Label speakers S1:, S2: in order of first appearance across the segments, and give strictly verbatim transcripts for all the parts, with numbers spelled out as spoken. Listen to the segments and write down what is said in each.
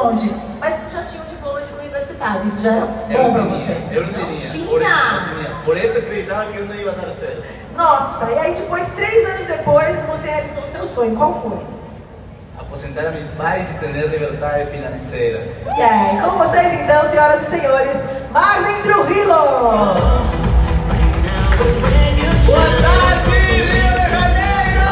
S1: longe. Mas você já tinha um diploma de universitário, isso já era
S2: Eu
S1: bom pra
S2: não
S1: você.
S2: tinha, eu não tinha.
S1: Tinha!
S2: Por isso, não tinha. Por isso eu acreditava que eu não ia dar certo.
S1: Nossa, e aí depois, três anos depois, você realizou o seu sonho. Qual foi?
S2: Aposentar a meus pais e ter liberdade financeira.
S1: E aí, com vocês então, senhoras e senhores, Marvin Trujillo!
S2: Boa tarde, Rio de Janeiro!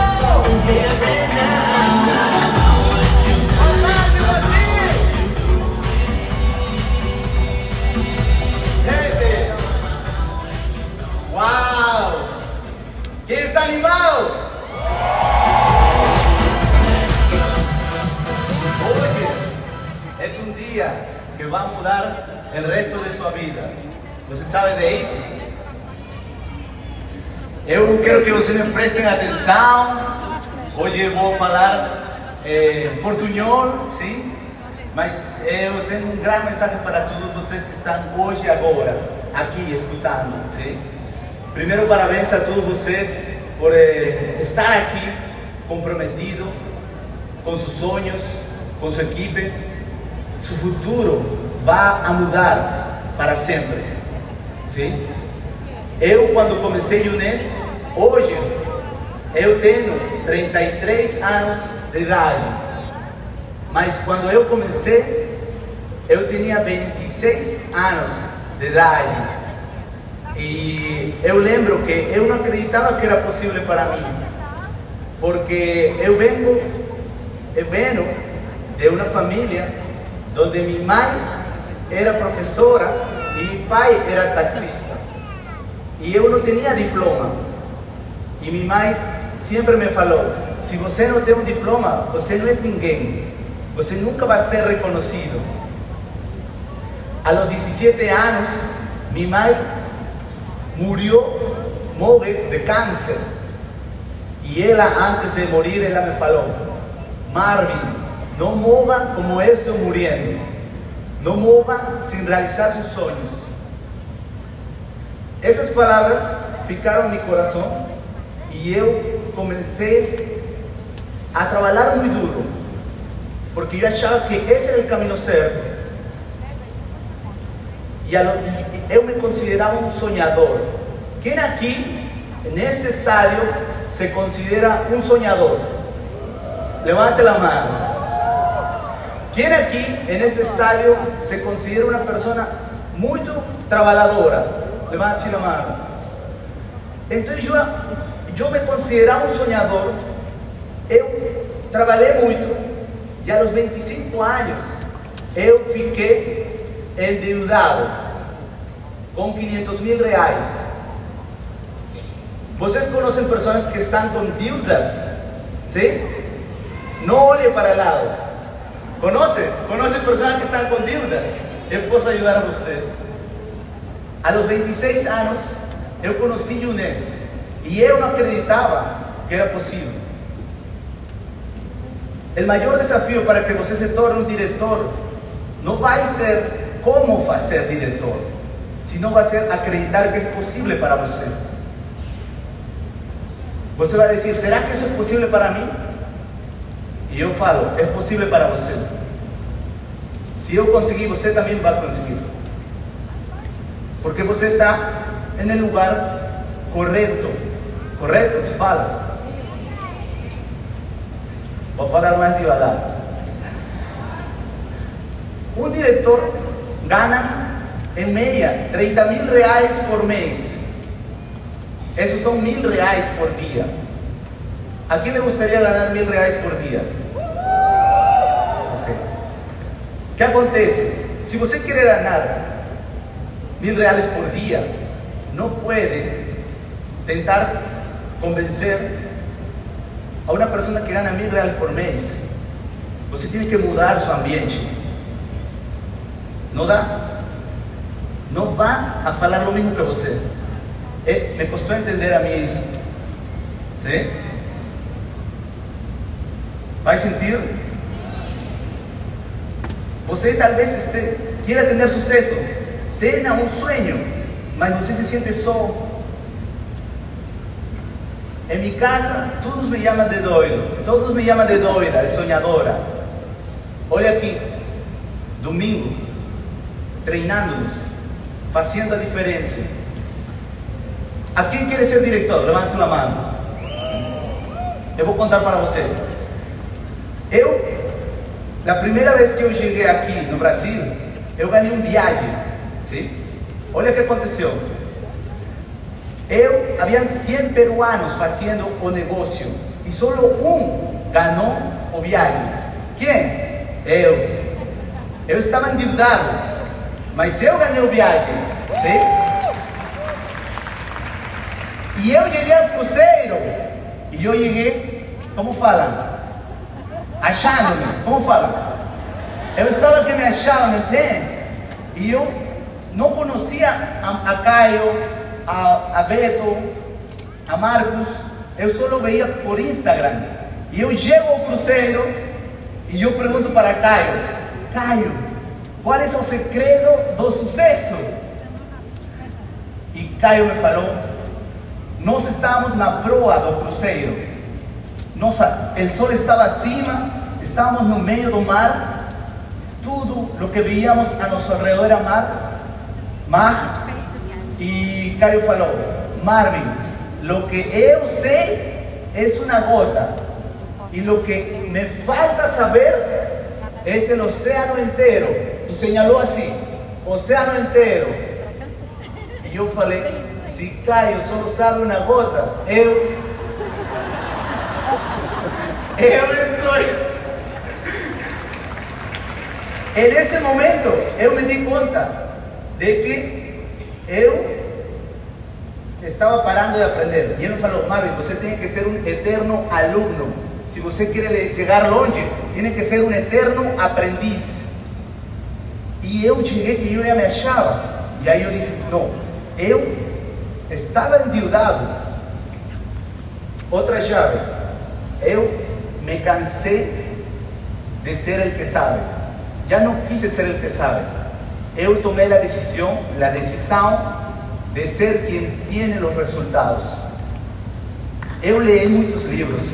S2: ¡Wow! ¿Quién está animado? Hoy es un día que va a mudar el resto de su vida. ¿Você sabe de isso? Eu quero que vocês me prestem atenção. Hoje eu vou falar eh, portunhol, sim? Mas eu tenho um grande mensagem para todos vocês que estão hoje e agora aqui escutando, sim? Primeiro, parabéns a todos vocês por eh, estar aqui comprometido com seus sonhos, com sua equipe. Seu futuro vai a mudar para sempre, sim? Eu, quando comecei o Unes, hoje eu tenho trinta e três anos de idade, mas quando eu comecei, eu tinha vinte e seis anos de idade. E eu lembro que eu não acreditava que era possível para mim, porque eu venho, eu venho de uma família onde minha mãe era professora e meu pai era taxista. E eu não tinha diploma. E minha mãe sempre me falou: se você não tem um diploma, você não é ninguém. Você nunca vai ser reconhecido. A los dezessete anos, minha mãe morreu, morre de câncer. E ela, antes de morir, ela me falou: Marvin, não morra como eu estou morrendo. Não morra sem realizar seus sonhos. Essas palavras ficaram no meu coração e eu comecei a trabalhar muito duro, porque eu achava que esse era o caminho certo. E eu me considerava um sonhador. Quem aqui, neste estádio, se considera um sonhador? Levante a mão. Quem aqui, neste estádio, se considera uma pessoa muito trabalhadora? Levante a mão. Então eu, eu me considerava um sonhador. Eu trabalhei muito e aos vinte e cinco anos eu fiquei endeudado com quinhentos mil reais. Vocês conhecem pessoas que estão com dívidas? Sim? Não olhe para o lado. Conhece? Conhece pessoas que estão com dívidas? Eu posso ajudar vocês. A los vinte e seis anos, eu conheci o Unes e eu não acreditava que era possível. O maior desafio para que você se torne um diretor não vai ser como fazer diretor, senão vai ser acreditar que é possível para você. Você vai dizer: será que isso é possível para mim? E eu falo: é possível para você. Se eu conseguir, você também vai conseguir. Porque você está no lugar correto. Correto se fala? Vou falar mais devagar. Um diretor ganha, em média, trinta mil reais por mês. Esses são mil reais por dia. A quem lhe gostaria ganhar mil reais por dia? Okay. O que acontece? Se você quer ganhar mil reais por dia, não pode tentar convencer a uma pessoa que ganha mil reais por mês. Você tem que mudar seu ambiente. Não dá? Não vá a falar o mesmo que você. É, me custou entender a mim isso. Sim? Faz sentido? Você talvez este, queira ter sucesso. Tenha um sonho, mas você se sente só. Em minha casa, todos me chamam de doido, todos me chamam de doida, de sonhadora. Olha aqui, domingo, treinándonos, haciendo a diferencia. ¿A quién quiere ser director? Levanten la mano. Eu vou contar para vocês. Eu, a primeira vez que eu cheguei aqui no Brasil, eu ganhei um viagem, sim? Olha o que aconteceu. Eu, havia cem peruanos fazendo o negócio e só um ganhou o viagem. Quem? Eu. Eu estava endividado, mas eu ganhei o viagem, sim? E eu cheguei ao cruzeiro, e eu cheguei, como fala? Achando-me, como fala? Eu estava que me achava, me entende? E eu não conhecia a, a Caio, a, a Beto, a Marcos, eu só veia por Instagram. E eu chego ao cruzeiro, e eu pergunto para Caio, Caio, qual é o segredo do sucesso? E Caio me falou, nós estávamos na proa do cruzeiro, nossa, o sol estava acima, estávamos no meio do mar, tudo o que veíamos a nosso redor era mar, mar, e Caio falou, Marvin, o que eu sei é uma gota, e o que me falta saber é o oceano inteiro, e señalou assim, oceano inteiro, e eu falei, se Caio só sabe uma gota, eu, eu estou. E nesse momento, eu me di conta de que eu estava parando de aprender. E ele me falou, Marvin, você tem que ser um eterno aluno. Se você quer chegar longe, tem que ser um eterno aprendiz. E eu cheguei que eu já me achava. E aí eu disse, não, eu estava endividado. Outra chave, eu me cansei de ser o que sabe. Já não quis ser o que sabe. Eu tomei a decisão, a decisão de ser quem tem os resultados. Eu leí muitos livros.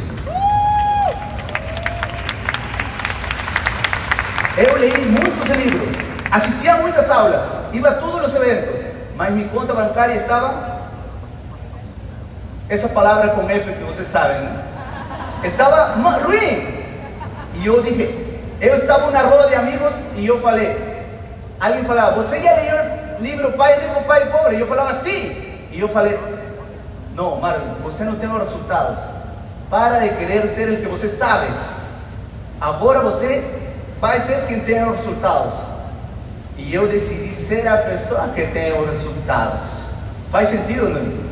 S2: Eu leí muitos livros. Assistia a muitas aulas. Iba a todos os eventos. Mas minha conta bancária estava... Essa palavra com F que vocês sabem, né? Estava ruim. E eu dije, eu estava na roda de amigos e eu falei, alguém falava, você já leu o livro Pai Rico, Pai Pobre? E eu falava, sim. E eu falei, não, Marvin, você não tem os resultados. Para de querer ser o que você sabe. Agora você vai ser quem tem os resultados. E eu decidi ser a pessoa que tem os resultados. Faz sentido, não?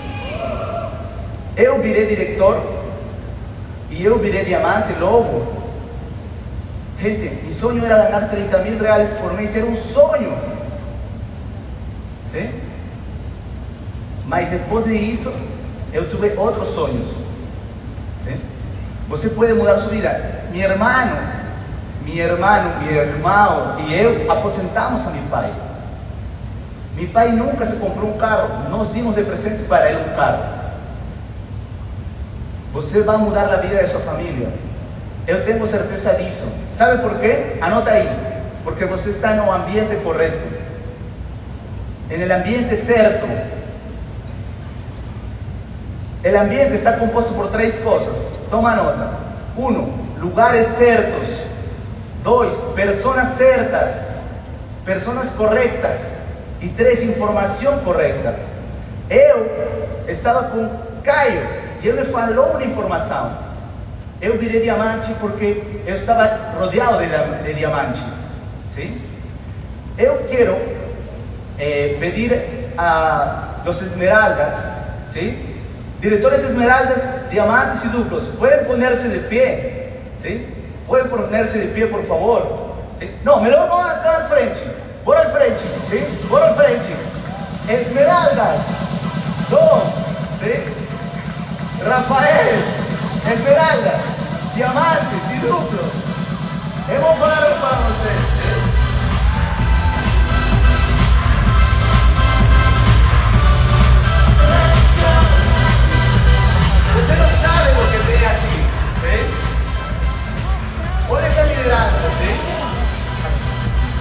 S2: Eu virei diretor e eu virei diamante logo. Gente, meu sonho era ganhar trinta mil reais por mês, era um sonho. Sim? Mas depois disso, eu tive outros sonhos. Sim? Você pode mudar sua vida. Meu irmão, meu irmão, meu irmão e eu aposentamos a meu pai. Meu pai nunca se comprou um carro, nós dimos de presente para ele um carro. Você vai mudar a vida de sua família. Eu tenho certeza disso. Sabe por quê? Anota aí. Porque você está no ambiente correto. En el ambiente certo. El ambiente está composto por três coisas. Toma nota. Uno, lugares certos. Dois, pessoas certas. Pessoas corretas. E três, informação correta. Eu estava com Caio. E ele me falou uma informação. Eu virei diamante porque eu estava rodeado de, de diamantes. ¿Sí? Eu quero eh, pedir a los esmeraldas, ¿sí? Diretores esmeraldas, diamantes y duplos, pueden ponerse de pie, ¿sí? Pueden ponerse de pie, por favor. ¿Sí? No, me lo van acá al frente, por al frente, ¿sí? Por al frente. Esmeraldas, dos, ¿sí? Rafael, esmeraldas, diamantes y duplos. Hemos parado para ustedes. Usted no sabe lo que tiene aquí, ¿sí? Por esa lideranza, ¿sí?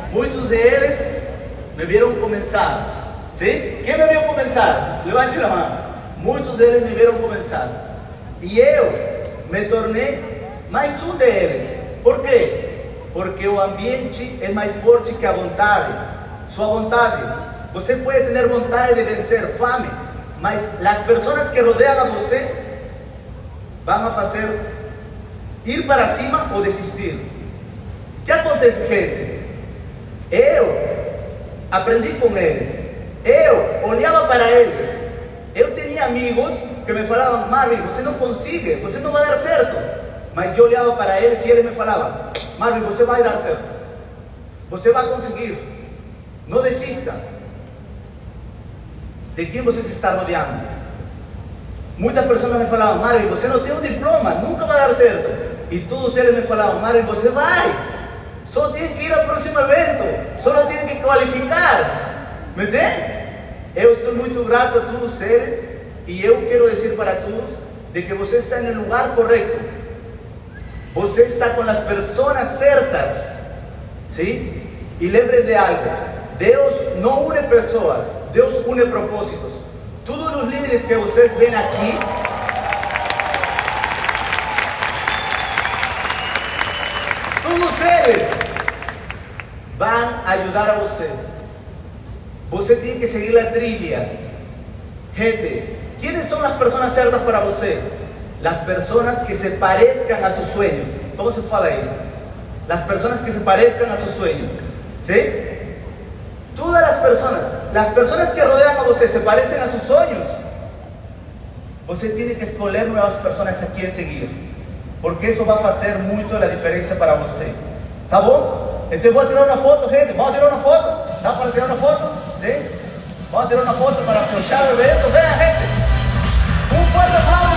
S2: muitos deles me viram começar. Sim? Quem me viu começar? Levante a mão. Muitos deles me viram começar. E eu me tornei mais um deles. Por quê? Porque o ambiente é mais forte que a vontade. Sua vontade. Você pode ter vontade de vencer fome, mas as pessoas que rodeiam a você vão a fazer ir para cima ou desistir. O que acontece, gente? Eu aprendi com eles. Eu olhava para eles. Eu tinha amigos que me falavam: Marvin, você não consegue, você não vai dar certo. Mas eu olhava para eles e eles me falavam: Marvin, você vai dar certo. Você vai conseguir. Não desista. De quem você se está rodeando? Muitas pessoas me falavam: Marvin, você não tem um diploma, nunca vai dar certo. E todos eles me falavam: Marvin, você vai. Só tem que ir ao próximo evento. Só não tem que qualificar. ¿Me entende? Eu estou muito grato a todos eles. E eu quero dizer para todos de que você está no lugar correto. Você está com as pessoas certas. ¿Sí? E lembre de algo. Deus não une pessoas. Deus une propósitos. Todos os líderes que vocês veem aqui, todos eles vão ajudar a você. Você tem que seguir a trilha. Gente, quem são as pessoas certas para você? As pessoas que se parezcan a seus sonhos. Como se fala isso? As pessoas que se parezcan a seus sonhos. ¿Sí? Todas as pessoas, as pessoas que rodeiam a você se parecem a seus sonhos. Você tem que escolher novas pessoas a quem seguir, porque isso vai fazer muito a diferença para você. Tá bom? Então vou tirar uma foto, gente. Vamos tirar uma foto? Dá para tirar uma foto? Sim? Vamos tirar uma foto para fechar o evento. Venha, gente. Um forte aplauso.